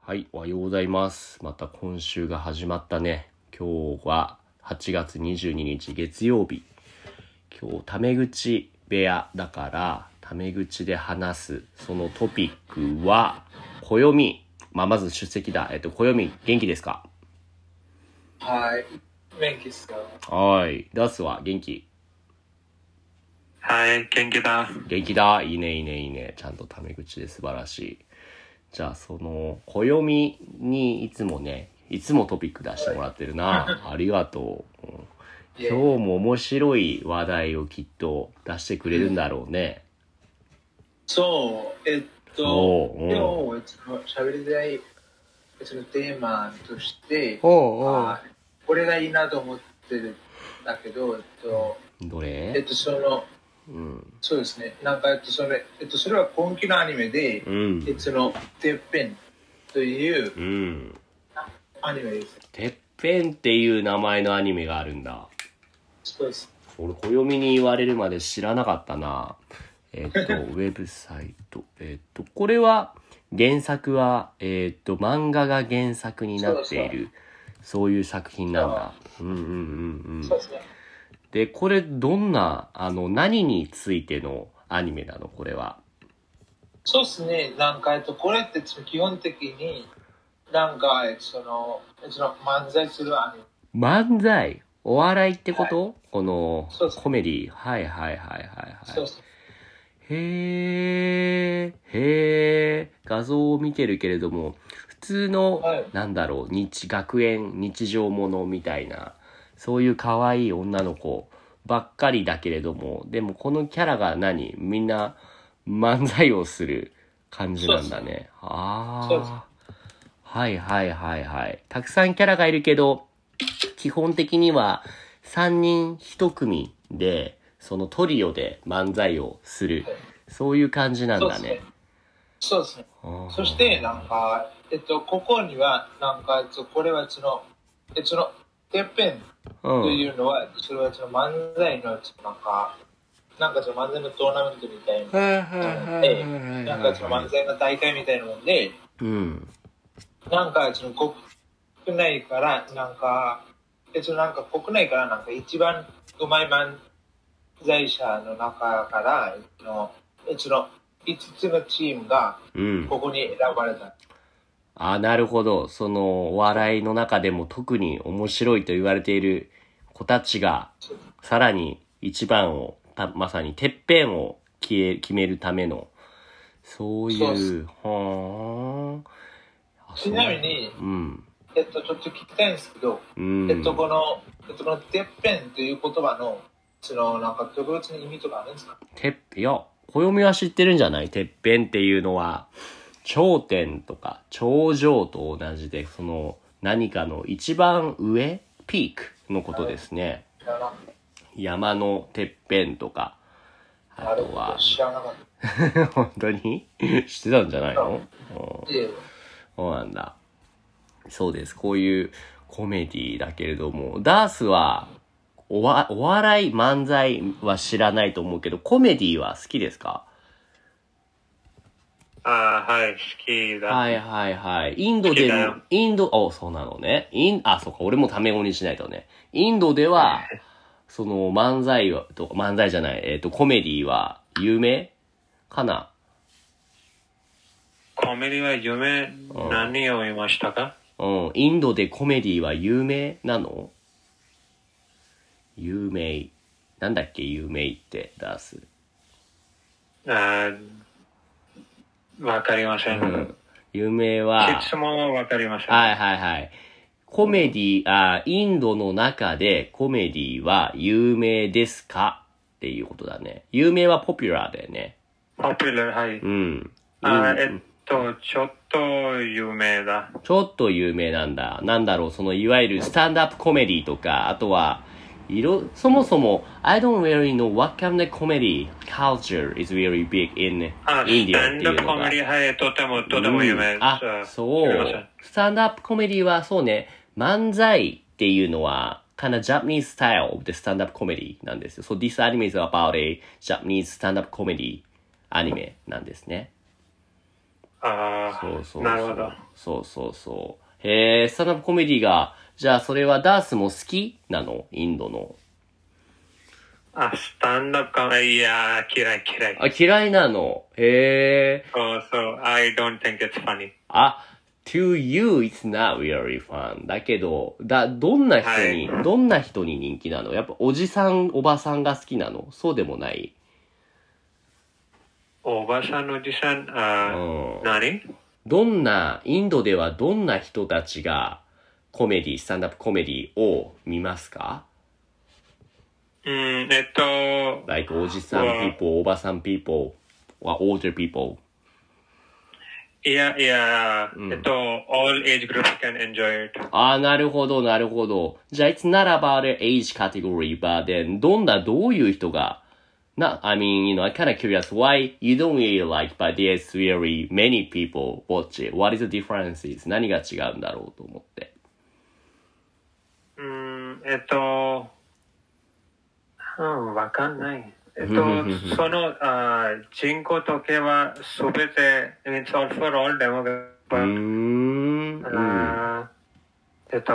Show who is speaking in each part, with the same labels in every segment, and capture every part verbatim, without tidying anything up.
Speaker 1: はい、おはようございます。また今週が始まったね。今日ははちがつにじゅうににち月曜日。今日タメ口部屋だからタメ口で話すそのトピックは暦。まあまず出席だ。えっと暦元気ですか？
Speaker 2: はい、元気ですか？
Speaker 1: はい。ダースは元気？
Speaker 3: はい、元気だ。
Speaker 1: 元気だ。いいねいいねいいね。ちゃんとタメ口で素晴らしい。じゃあその暦にいつもね、いつもトピック出してもらってるな。ありがとう。うん今日も面白い話題をきっと出してくれるんだろうね。
Speaker 2: そう、えっと、
Speaker 1: そううん
Speaker 2: 今日喋りたい別のテーマとして、
Speaker 1: おうおう
Speaker 2: あこれがいいなと思ってるんだけど、えっと、
Speaker 1: ど
Speaker 2: えっ
Speaker 1: れ？
Speaker 2: と、その、
Speaker 1: うん。
Speaker 2: そうですね、なんか、えっと、それ、えっと、それは今期のアニメで、
Speaker 1: うん。
Speaker 2: えっと、その、てっぺんという
Speaker 1: うん。
Speaker 2: アニメです。
Speaker 1: てっぺんっていう名前のアニメがあるんだ。
Speaker 2: そうです。
Speaker 1: 俺、暦に言われるまで知らなかったな。えっと、ウェブサイト。えっと、これは、原作は、えっと、漫画が原作になっている、そういう作品なんだ。うんうんうんうん
Speaker 2: そう。ですね。
Speaker 1: で、これ、どんな、あの、何についてのアニメなのこれは。
Speaker 2: そうですね、なんか、えっと、これって基本的に、なんか、えっと、その、えっと、その漫才するアニメ。
Speaker 1: 漫才お笑いってこと、この
Speaker 2: そうです
Speaker 1: コメディはいはいはいはいはい。
Speaker 2: そうです。
Speaker 1: へー、へー、画像を見てるけれども、普通の、
Speaker 2: はい
Speaker 1: なんだろう、日、学園、日常ものみたいな、そういう可愛い女の子ばっかりだけれども、でもこのキャラが何みんな漫才をする感じなんだね。あ
Speaker 2: そうです
Speaker 1: ー。はいはいはいはい。たくさんキャラがいるけど、基本的にはさんにんひと組で、そのトリオで漫才をする。そういう感じなんだね。
Speaker 2: そうですね。
Speaker 1: あー
Speaker 2: そして、なんか、えっと、ここには、なんか、えっと、これはその、えっと、その、てっぺんと
Speaker 1: うん。
Speaker 2: いうのは、それはその漫才の、なんか、なんかその漫才のトーナメントみたいな
Speaker 1: はいはい
Speaker 2: もん
Speaker 1: はい
Speaker 2: で、
Speaker 1: はい
Speaker 2: なんかその漫才の大会みたいなもんで、
Speaker 1: うん。
Speaker 2: なんかその国内から、なんか、えっと、なんか国内からなんか一番うまい漫才者の中から、えっと、えっと、いつつのチームが
Speaker 1: うん。
Speaker 2: ここに選ばれた。
Speaker 1: あ、なるほど。その、お笑いの中でも特に面白いと言われている子たちが、さらに一番を、たまさにてっぺんを決め決めるための、そう
Speaker 2: そうっす
Speaker 1: いう、はあ。
Speaker 2: ちなみに、
Speaker 1: うん。
Speaker 2: えっと、ちょっと聞きたいんですけど、
Speaker 1: うん。
Speaker 2: えっと、この、えっと、このてっぺんという言葉の、その、なんか特別な意味とかあるんですか？
Speaker 1: てっ、いや、暦は知ってるんじゃない？てっぺんっていうのは、頂点とか頂上と同じで、その何かの一番上、ピークのことですね。
Speaker 2: 知らなかっ
Speaker 1: 山のてっぺんとか、
Speaker 2: た。
Speaker 1: あとは、
Speaker 2: 知らなかっ
Speaker 1: 本当に知ってたんじゃないの？うん
Speaker 2: た。で、
Speaker 1: そうなんだ。そうです。こういうコメディだけれども、ダースは、おわ、お笑い、漫才は知らないと思うけど、コメディは好きですか？
Speaker 3: あーはい、好きだ。
Speaker 1: はいはいはい。インドでも
Speaker 3: 好きだよ、
Speaker 1: インド、お、そうなのね。イン、あ、そうか、俺もタメ語にしないとね。インドでは、その漫才は、と、漫才じゃない、えっと、コメディは有名かな？
Speaker 3: コメディは夢、何を言いましたか？
Speaker 1: うん、インドでコメディは有名なの？有名。なんだっけ、有名って出す。
Speaker 3: あーわかりません。
Speaker 1: うん。有名は、
Speaker 3: いつもわかりません。
Speaker 1: はいはいはい。コメディ、あ、インドの中でコメディは有名ですかっていうことだね。有名はポピュラーだよね。
Speaker 3: ポピュラー、はい。
Speaker 1: うん。
Speaker 3: あー
Speaker 1: うん
Speaker 3: えっと、ちょっと有名だ。
Speaker 1: ちょっと有名なんだ。なんだろう、そのいわゆるスタンドアップコメディとか、あとは、いろ、そもそも、I don't really know what kind of comedy culture is very big in
Speaker 3: あ、
Speaker 1: India
Speaker 3: スタンド
Speaker 1: っていうのが。
Speaker 3: コメディ、はい、とても、とても有名です。
Speaker 1: うんあ、そう。スタンドアップコメディはそうね、漫才っていうのは、kind of Japanese style of the stand-up comedy なんですよ。So this anime is about a Japanese stand-up comedy アニメなんですね。
Speaker 3: ああ、
Speaker 1: そうそうそう。
Speaker 3: なるほど。
Speaker 1: そうそうそう。へえ、スタンダップコメディが、じゃあそれはダースも好きなの？インドの。
Speaker 3: あ、スタンダップコメディ、いやー、嫌い嫌い。
Speaker 1: あ、嫌いなの。へえ。
Speaker 3: そうそう、I don't think it's funny.
Speaker 1: あ、to you it's not really fun. だけど、だ、どんな人に、
Speaker 3: はい、
Speaker 1: どんな人に人気なの？やっぱおじさん、おばさんが好きなの？そうでもない？
Speaker 3: おばさん、おじさん、あ、うん、何？
Speaker 1: どんな、インドではどんな人たちがコメディ、スタンダップコメディを見ますか？
Speaker 3: うん、えっと、
Speaker 1: like おじさん people, おばさん people, or older people.
Speaker 3: いやいや、うん、えっと、all age groups can enjoy it.
Speaker 1: ああ、なるほど、なるほど。じゃあ、it's not about an age category, but then, どんな、どういう人が、な、I mean, you know, I'm kind of curious why you don't really like, but there's really many people watch it. What is the differences? 何が違うんだろうと思って。
Speaker 3: うん、えっと、うん、わかんない。えっと、そのあ人口統計はすべて、it's all for all demographics。うーん。あえっと、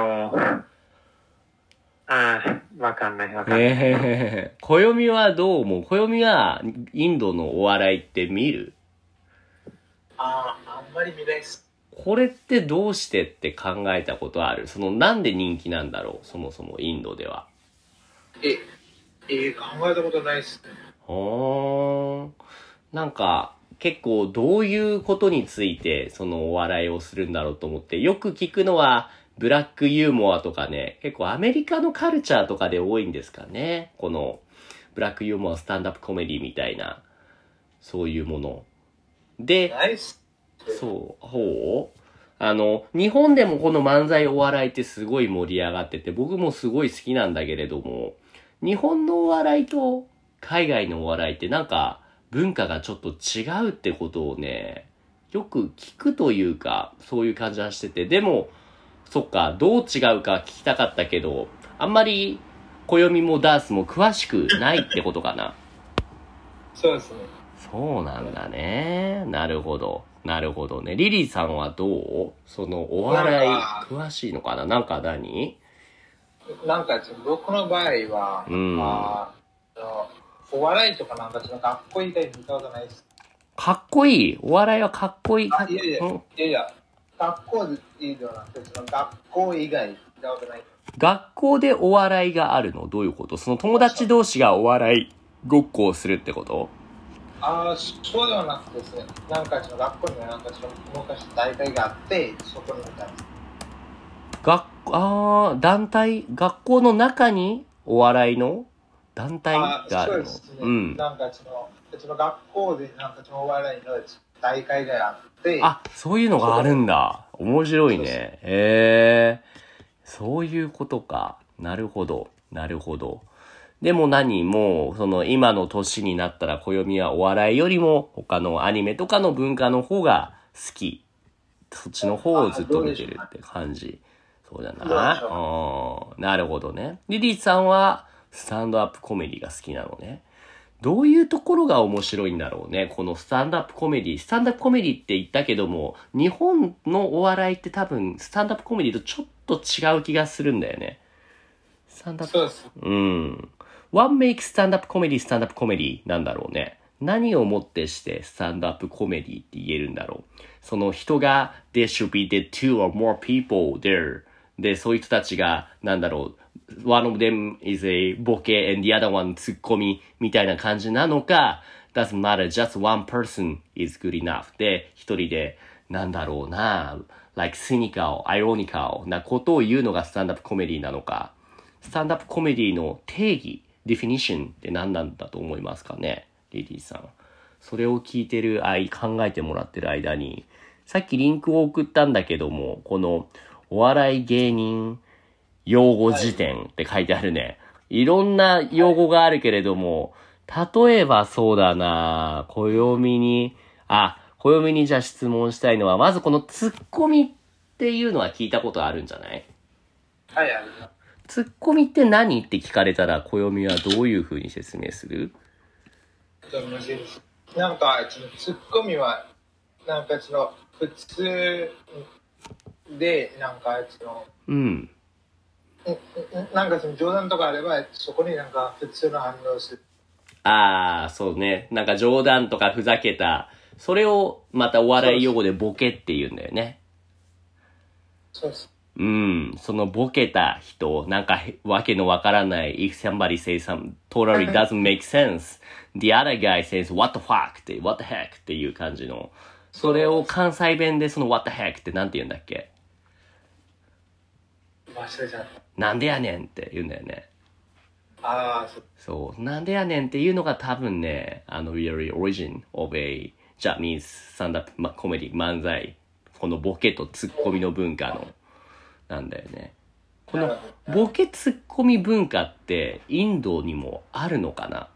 Speaker 3: あわかんない、わかんない。
Speaker 1: えー、暦はどう思う？暦はインドのお笑いって見る？
Speaker 2: ああ、あんまり見ないっす。
Speaker 1: これってどうしてって考えたことある？その、なんで人気なんだろう？そもそもインドでは。
Speaker 2: え、えー、考えたことないっすね。
Speaker 1: ほーん。なんか、結構どういうことについてそのお笑いをするんだろうと思って、よく聞くのはブラックユーモアとかね、結構アメリカのカルチャーとかで多いんですかね。このブラックユーモア、スタンダップコメディみたいな、そういうもの。で、
Speaker 2: ナイス。
Speaker 1: そう、ほうあの、日本でもこの漫才お笑いってすごい盛り上がってて、僕もすごい好きなんだけれども、日本のお笑いと海外のお笑いってなんか文化がちょっと違うってことをね、よく聞くというか、そういう感じはしてて、でも、そっか、どう違うか聞きたかったけど、あんまり暦もダースも詳しくないってことかな。
Speaker 2: そうですね。
Speaker 1: そうなんだね。なるほど。なるほどね。リリーさんはどう？そのお笑い詳しいのかな？なんか何？
Speaker 2: なんか僕の場合は、うん、あのお笑いとかなんかその学校以外見たことないです。
Speaker 1: かっこいい？お笑いはかっこいい？
Speaker 2: あいやいや、うん、いやいや、学校でいいではなくて、その学校以外見たことない。
Speaker 1: 学校でお笑いがあるの？どういうこと？その友達同士がお笑いごっこをするってこと？
Speaker 2: ああ、そうではなくてですね、なんかその学校にはなんかその昔大会があって、そこに見たんです。
Speaker 1: 学あー団体学校の中にお笑いの団体があるの？そうですね。うん。
Speaker 2: なんかそのその学校でなんかそのお笑いの大会があって。
Speaker 1: あ、そういうのがあるんだ。面白いね。へえ。そういうことか。なるほど。なるほど。でも何もうその今の年になったら暦はお笑いよりも他のアニメとかの文化の方が好き。そっちの方をずっと見てるって感じ。そうだな。うん。なるほどね。リリーさんはスタンドアップコメディが好きなのね。どういうところが面白いんだろうね。このスタンドアップコメディ。スタンドアップコメディって言ったけども、日本のお笑いって多分スタンドアップコメディとちょっと違う気がするんだよね。スタンドアップ。
Speaker 2: そうです。
Speaker 1: うん。What makes stand-up comedy stand-up comedy なんだろうね。何をもってしてスタンドアップコメディって言えるんだろう。その人が there should be the two or more people there でそういう人たちがなんだろう one of them is a ボケ and the other one ツッコミみたいな感じなのか doesn't matter just one person is good enough で一人でなんだろうな like cynical ironical なことを言うのがスタンドアップコメディなのかスタンドアップコメディの定義ディフィニッションって何なんだと思いますかねリリーさん。それを聞いてる間、考えてもらってる間に、さっきリンクを送ったんだけども、このお笑い芸人用語辞典って書いてあるね。いろんな用語があるけれども、例えばそうだな暦に、あ、暦にじゃあ質問したいのは、まずこのツッコミっていうのは聞いたことあるんじゃない？
Speaker 2: はい、ある。
Speaker 1: ツッコミって何って聞かれたら、暦はどういう風に説明する？
Speaker 2: 難しいです。なんか、そのツッコミは、なんかその、 普通で、なんか、その、
Speaker 1: うん。
Speaker 2: なんかその冗談とかあれば、そこになんか普通の反応する。
Speaker 1: ああ、そうね。なんか冗談とかふざけた、それをまたお笑い用語でボケって言うんだよね。
Speaker 2: そうです。
Speaker 1: うん。そのボケた人、なんかわけのわからない、if somebody says something totally doesn't make sense, the other guy says, what the fuck って、what the heck っていう感じの。それを関西弁でその what the heck ってなんて言うんだっけ？
Speaker 2: 忘れちゃった。
Speaker 1: なんでやねんって言うんだよね。
Speaker 2: ああ、そう。
Speaker 1: そう。なんでやねんっていうのが多分ね、あの、really origin of a Japanese stand-up comedy 漫才。このボケとツッコミの文化の、なんだよね。このボケツッコミ文化ってインドにもあるのかな？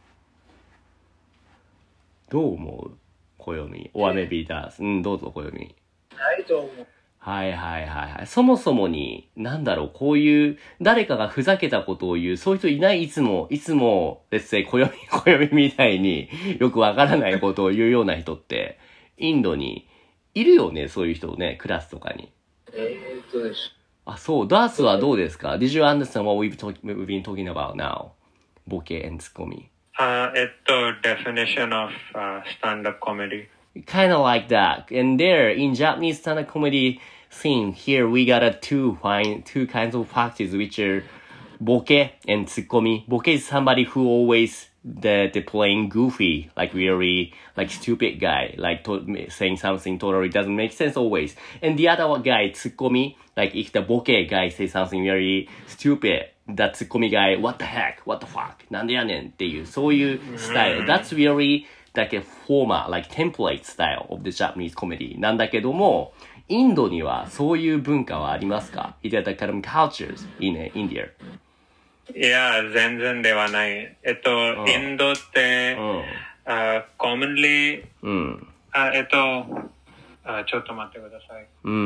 Speaker 1: どう思う？暦。or maybe does. うん、どうぞ、暦。
Speaker 2: ないと思う。
Speaker 1: はいはいはいはい。そもそもに、なんだろう、こういう、誰かがふざけたことを言う、そういう人いない？いつも、いつも、let's say、暦、暦みたいによくわからないことを言うような人って、インドにいるよね、そういう人ね、クラスとかに。
Speaker 2: えーっとでしょ。
Speaker 1: あ、そう、ダースはどうですか？ Did you understand what we've, talk, we've been talking about now? ボケ and ツッコミ。
Speaker 3: Uh, えっと、definition of、uh, stand-up comedy.
Speaker 1: Kind of like that. And there, in Japanese stand-up comedy scene, here we got a two, fine, two kinds of practice, which are ボケ and ツッコミ. ボケ is somebody who always the, the playing goofy, like really, like stupid guy, like to, saying something totally doesn't make sense always. And the other guy, ツッコミ, like if the ボケ guy says something very stupid, the ツッコミ guy, what the heck, what the fuck, なんでやねんっていう、そういうスタイル。That's really like a former, like template style of the Japanese comedy なんだけども、インドにはそういう文化はありますか？ Is there the kind of cultures in India?
Speaker 3: いや、全然ではない。えっと、うん、インドって、うん、あ commonly、うん、あえっとあ、ちょっと待ってください。うん。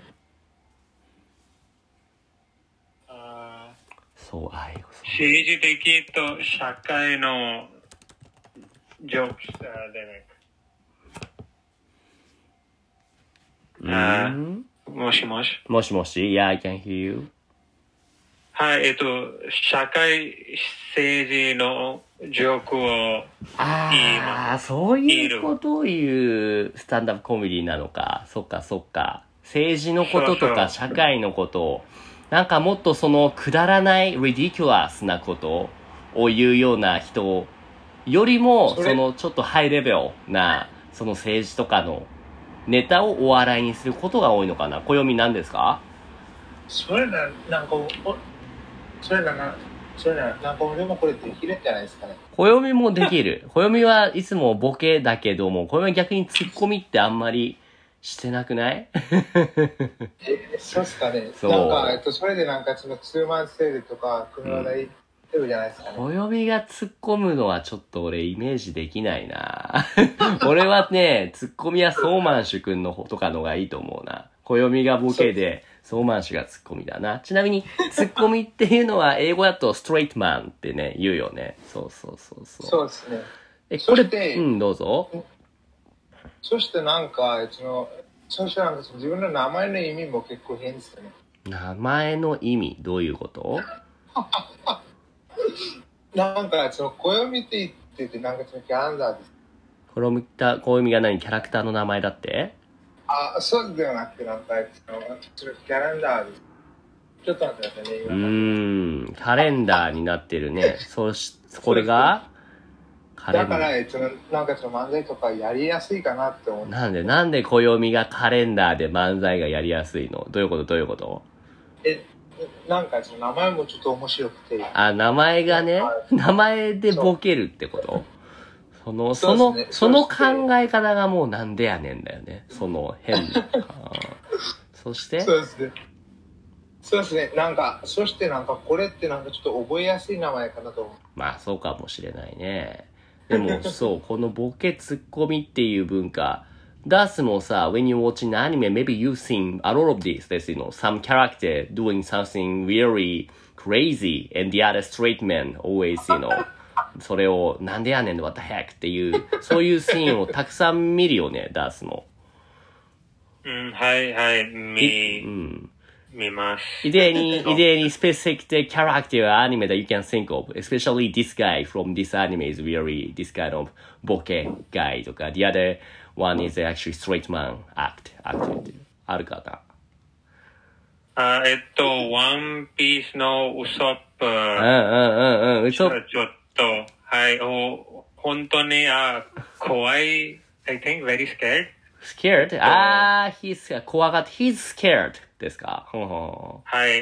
Speaker 3: あそう、あい政治的と社会のジョークスでね。あ、もしもし。
Speaker 1: もしもし、Yeah, I can hear you.
Speaker 3: はい、えっと、社会政治のジョークを言います。
Speaker 1: ああ、そういうことを言うスタンダップコメディなのか。そっかそっか。政治のこととか社会のことを、なんかもっとそのくだらない、ridiculous なことを言うような人よりも、そのちょっとハイレベルな、その政治とかのネタをお笑いにすることが多いのかな。暦なんですか？
Speaker 2: それな、なんか、それな、それな、なんか俺もこれできるんじゃないですかね。
Speaker 1: 暦もできる。暦はいつもボケだけども、暦は逆にツッコミってあんまりしてなくない？
Speaker 2: え、そうっすかね。そう。なんか、えっと、それでなんかそのツーマンセールとか、組み話題てるじゃないですかね。
Speaker 1: 暦が突っ込むのはちょっと俺イメージできないな。俺はね、ツッコミはソーマンシュ君の方とかのがいいと思うな。暦がボケで、ソーマンシュがツッコミだな。ちなみに、ツッコミっていうのは英語だとストレートマンってね、言うよね。そうそうそうそう。
Speaker 2: そうですね。
Speaker 1: え、これ、うん、どうぞ。
Speaker 2: そしてなんか、その、そしてなんか自分の名前の意味も結構変ですよね。
Speaker 1: 名前の意味、どういうこと？
Speaker 2: なんか、その、暦って言ってて、なんかそのキャランダーです。
Speaker 1: 暦た、暦が何？キャラクターの名前だって？
Speaker 2: あ、そうではなくて、なんか、その、キャランダーです。ちょっと待ってくださいね。
Speaker 1: うーん、カレンダーになってるね。そし、これが
Speaker 2: カレンダー。だから、その、なんかその漫才とかやりやすいかなって思って。
Speaker 1: なんで、なんで暦がカレンダーで漫才がやりやすいの？どういうことどういうこと？
Speaker 2: え、なんかその名前もちょっと面白くて。
Speaker 1: あ、名前がね、名前でボケるってこと？その、その、その考え方がもうなんでやねんだよね。その変な。そして
Speaker 2: そうですね。そうですね。なんか、そしてなんかこれってなんかちょっと覚えやすい名前かなと思う。
Speaker 1: まあそうかもしれないね。でもそう、このボケツッコミっていう文化、ダースもさ、when you watch an anime, maybe you've seen a lot of this, there's, you know, some character doing something really crazy and the other straight man always, you know, それをなんでやねん what the heck っていう、そういうシーンをたくさん見るよね、ダースも。
Speaker 3: うん、はいはい、見、
Speaker 1: うん、
Speaker 3: 見ます。
Speaker 1: Is there any, is there any specific character or anime that you can think of? Especially this guy from this anime is really this kind of ボケ guy とか、the other one is actually straight man act, act あるかな。
Speaker 3: あ、えっと、ワンピースのウソップ。うん
Speaker 1: うんうんうん、ウソップ。
Speaker 3: ちょっと、はい、お、本当に、あ、怖い、I think very scared.
Speaker 1: Scared? あー、he's 怖がって、he's scared ですか。はい、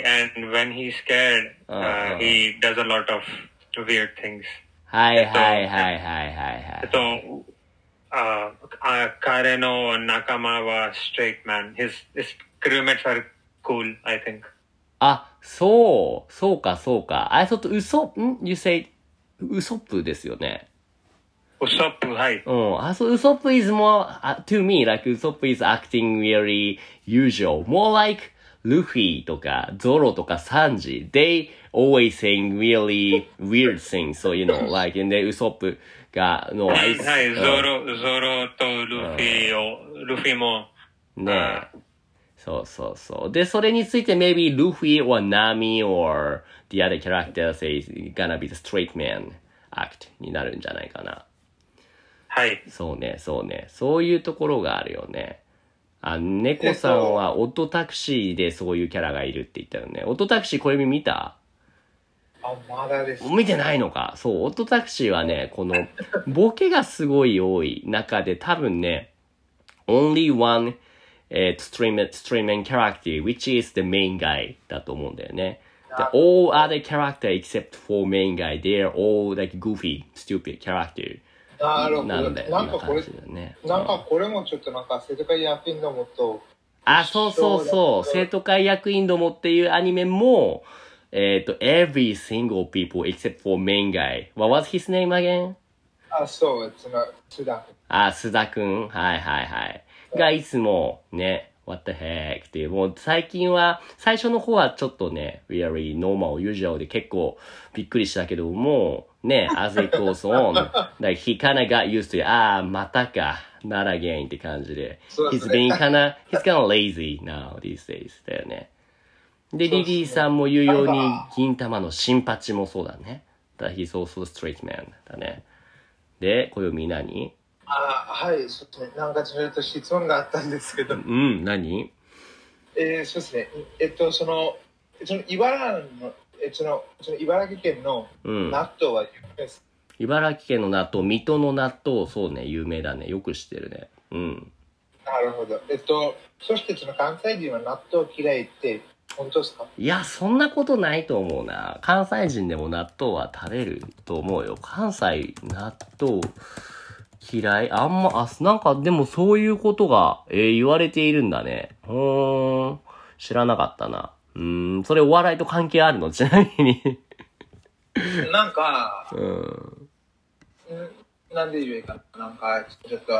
Speaker 3: and when he's scared,、uh, he does a lot of weird things.
Speaker 1: はいはいはいはいはいはい。
Speaker 3: えっと、あ、あ、彼の仲間は straight man. His, his crewmates are cool, I think.
Speaker 1: あ、そう、そうかそうか。I thought ウソ、ん ?You say ウソップですよね。
Speaker 3: ウソップ、はい。
Speaker 1: うん。あ、そう、ウソップ is more, uh, to me, like ウソップ is acting really usual. More like ルフィとかゾロとかサンジ。They always saying really weird things. So, you know, like, and then ウソップが、の、
Speaker 3: はい、はい、ゾロ、ゾロとルフィを、ルフィも。
Speaker 1: ねえ。そうそうそう。で、それについて maybe ルフィ or ナミ or the other character says gonna be the straight man act になるんじゃないかな。
Speaker 3: はい。
Speaker 1: そうね、そうね。そういうところがあるよね。あ、猫さんはオットタクシーでそういうキャラがいるって言ったよね。オットタクシー小指見た？
Speaker 2: あ、まだです。
Speaker 1: 見てないのか。そう、オットタクシーはね、このボケがすごい多い中で多分ね、only one えー、stream, streaming character, which is the main guy だと思うんだよね。The all other character except for main guy, they're all like goofy, stupid character.
Speaker 2: なるほど。
Speaker 1: なんだよ。
Speaker 2: なんかこれ、
Speaker 1: ね、
Speaker 2: なんかこれもちょっとなんか生徒会役員どもと。
Speaker 1: あ、そうそうそう。生徒会役員どもっていうアニメも、えっと、every single people except for main guy. What was his name again?
Speaker 2: あ、そう、須田君。
Speaker 1: あ、須田君。はいはいはい。がいつもね、what the heck っていう、もう最近は、最初の方はちょっとね、really normal, usual で結構びっくりしたけども、ね、as it goes on, like he kinda got used to it, ああ、またか、not again って感じで、he's being kinda, he's kinda lazy now these days だよね。で、リリーさんも言うように、銀玉の新パチもそうだね。だ he's also straight man だね。で、暦何？
Speaker 2: あ、はい、そうですね。なんかちょっと質問があったんですけど。
Speaker 1: うん、何？
Speaker 2: えー、そうですね。えっと、その、その茨城の、えその、その茨城県の納豆は有名です、
Speaker 1: うん。茨城県の納豆、水戸の納豆、そうね、有名だね。よく知ってるね。うん。
Speaker 2: なるほど。えっと、そしてその関西人は納豆嫌いって本当ですか？
Speaker 1: いや、そんなことないと思うな。関西人でも納豆は食べると思うよ。関西、納豆、嫌いあんま、あ、なんかでもそういうことが、えー、言われているんだね。うーん。知らなかったな。うーん。それお笑いと関係あるの？ちなみに。
Speaker 2: なんか、
Speaker 1: うん。
Speaker 2: なんで言えばいいかな。なんか、ちょっと、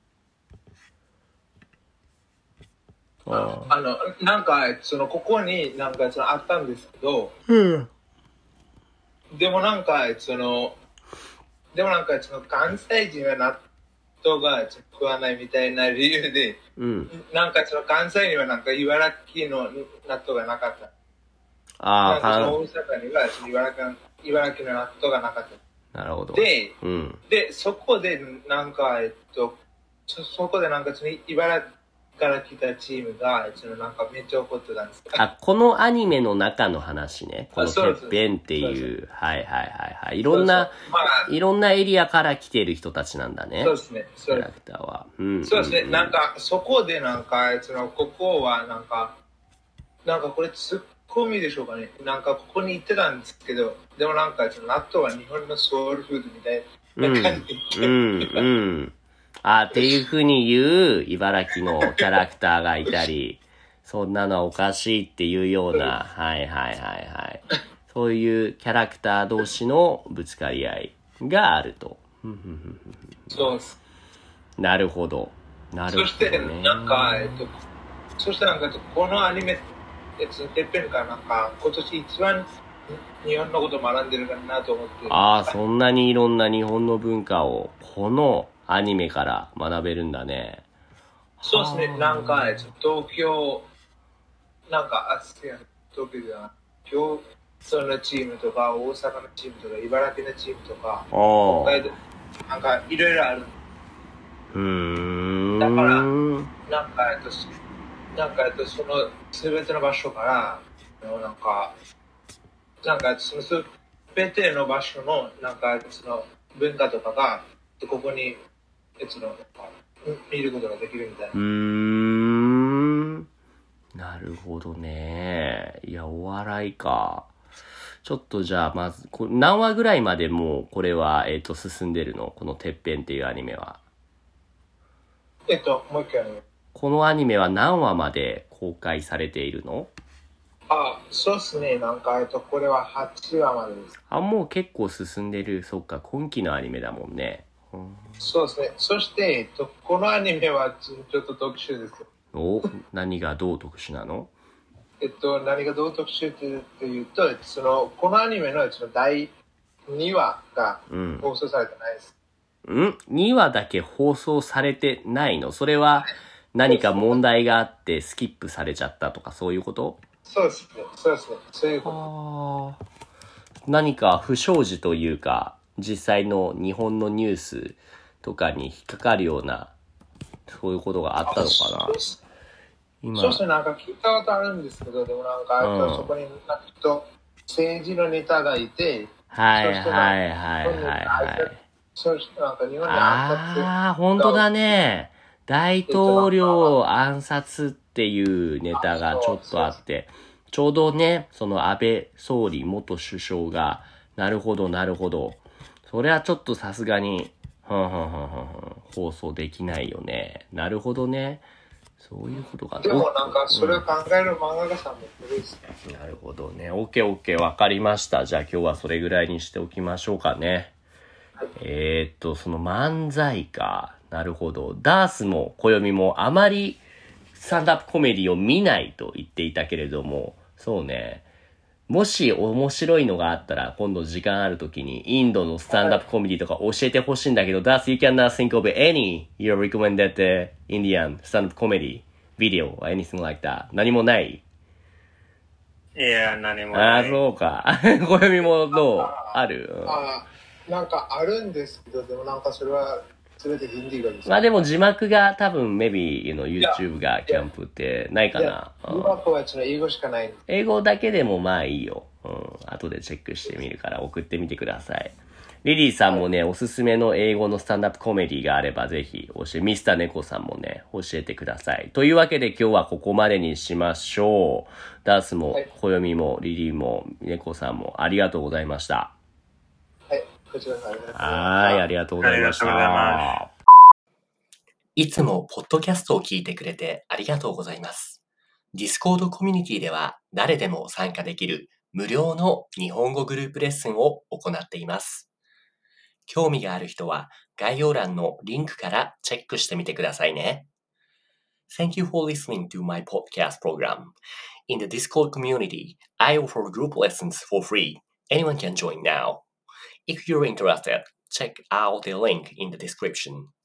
Speaker 2: あ, あの、なんか、その、ここになんかそのあったんですけど、
Speaker 1: うん。
Speaker 2: でもなんか、その、でもなんかその関西人は納豆が食わないみたいな理由で、うん、なんかその関西にはなんか茨城の納豆がなかった。ああ、大阪には茨城の茨城の納豆がなかった。
Speaker 1: なるほど。
Speaker 2: で、うん、でそこでなんかえっとそそこでなんかその茨城から来たチームがそのなんかめっちゃ怒ってたんです。
Speaker 1: あ、このアニメの中の話ね。このてっぺんっていう、はいはいはいはい。いろんな、まあ、いろんなエリアから来てる人たちなんだね。
Speaker 2: そうですね。
Speaker 1: キャラクターは。
Speaker 2: うん、そうですね。なんか、そこでなんか、その、ここはなんか、なんかこれツッコミでしょうかね。なんかここに行ってたんですけど、でもなんか、その納豆は日本のソウルフードみたいな感じで。
Speaker 1: うん、うん、うん。あ、っていう風に言う茨城のキャラクターがいたり、そんなのはおかしいっていうような、はいはいはいはい。そういうキャラクター同士のぶつかり合いがあると。
Speaker 2: そうです。
Speaker 1: なるほど。なるほど、ね。
Speaker 2: そして、なんか、えっと、そしてなんか、このアニメ、えっと、てっぺんがなんか、今年一番日本のことを学んでるかなと思って。
Speaker 1: ああ、そんなにいろんな日本の文化を、このアニメから学べるんだね。
Speaker 2: そうですね、なんか、東京、なんか、あ、すや東京じゃない、今日、そのチームとか、大阪のチームとか、茨城のチームとか、北海道、なんか、いろいろある。
Speaker 1: うーん。
Speaker 2: だから、なんか、えっと、なんか、えっと、その、すべての場所から、なんか、なんか、そのすべての場所の、なんか、その、文化とかが、ここに、えっと、なんか、見ることができるみたいな。
Speaker 1: うーん。なるほどね。いや、お笑いか。ちょっとじゃあ、まず、こ何話ぐらいまでもう、これは、えっと、進んでるの？このてっぺんっていうアニメは。
Speaker 2: えっと、もう一回。
Speaker 1: このアニメは何話まで公開されているの？
Speaker 2: あ、そうですね。なんか、えっと、これははちわまでです。
Speaker 1: あ、もう結構進んでる。そっか、今期のアニメだもんね。うん、
Speaker 2: そうですね。そして、えっと、このアニメはちょっと特殊です。
Speaker 1: お、何がどう特殊なの？
Speaker 2: えっと、何がどう特殊っていうと、その、このアニメのそのだいにわが放送されてないです。
Speaker 1: うん、にわだけ放送されてないの？それは何か問題があってスキップされちゃったとかそういうこと？
Speaker 2: そうですね。そうですね。そういうこ
Speaker 1: と。何か不祥事というか、実際の日本のニュースとかに引っかかるような、そういうことがあったのかな？
Speaker 2: 今そうですね。なんか聞いたことあるんですけど、でもなんか、うん、そこになんかと政治のネタがいて、
Speaker 1: はいはいはいはいはい。
Speaker 2: そうしてなんか日本に
Speaker 1: ああ、本当だね。大統領暗殺っていうネタがちょっとあって、ちょうどね、その安倍総理元首相が、なるほどなるほど。それはちょっとさすがに、ふんふんふんふんふん、放送できないよね。なるほどね。そういうことが。
Speaker 2: でもなんか、それを考える漫画家さんもいるんですね。
Speaker 1: なるほどね。オッケーオッケー、わかりました。じゃあ今日はそれぐらいにしておきましょうかね。はい、えー、っと、その漫才か。なるほど。ダースも暦もあまりスタンダップコメディを見ないと言っていたけれども、そうね。もし面白いのがあったら、今度時間あるときに、インドのスタンダップコメディとか教えてほしいんだけど、Thus you cannot think of any your recommended Indian stand-up comedy video or anything like that. 何もない？
Speaker 3: いや、何もない。
Speaker 1: ああ、そうか。暦もどう？ある？
Speaker 2: ああ、なんかあるんですけど、でもなんかそれは、すべてヒンディー語です。
Speaker 1: まあでも字幕が多分、maybe, you know, YouTube がキャンプってないかな。
Speaker 2: 字幕はちょっと英語しかない。
Speaker 1: 英語だけでもまあいいよ。うん。後でチェックしてみるから送ってみてください。リリーさんもね、はい、おすすめの英語のスタンダップコメディがあればぜひ教え、ミスター猫さんもね、教えてください。というわけで今日はここまでにしましょう。ダースも、コヨミも、リリーも、猫さんもありがとうございました。
Speaker 2: はい、こちらこそ
Speaker 1: はい、ありがとうございました。いつもポッドキャストを聞いてくれてありがとうございます。Discord コミュニティでは誰でも参加できる無料の日本語グループレッスンを行っています。興味がある人は概要欄のリンクからチェックしてみてくださいね。Thank you for listening to my podcast program. In the Discord community, I offer group lessons for free. Anyone can join now. If you're interested, check out the link in the description.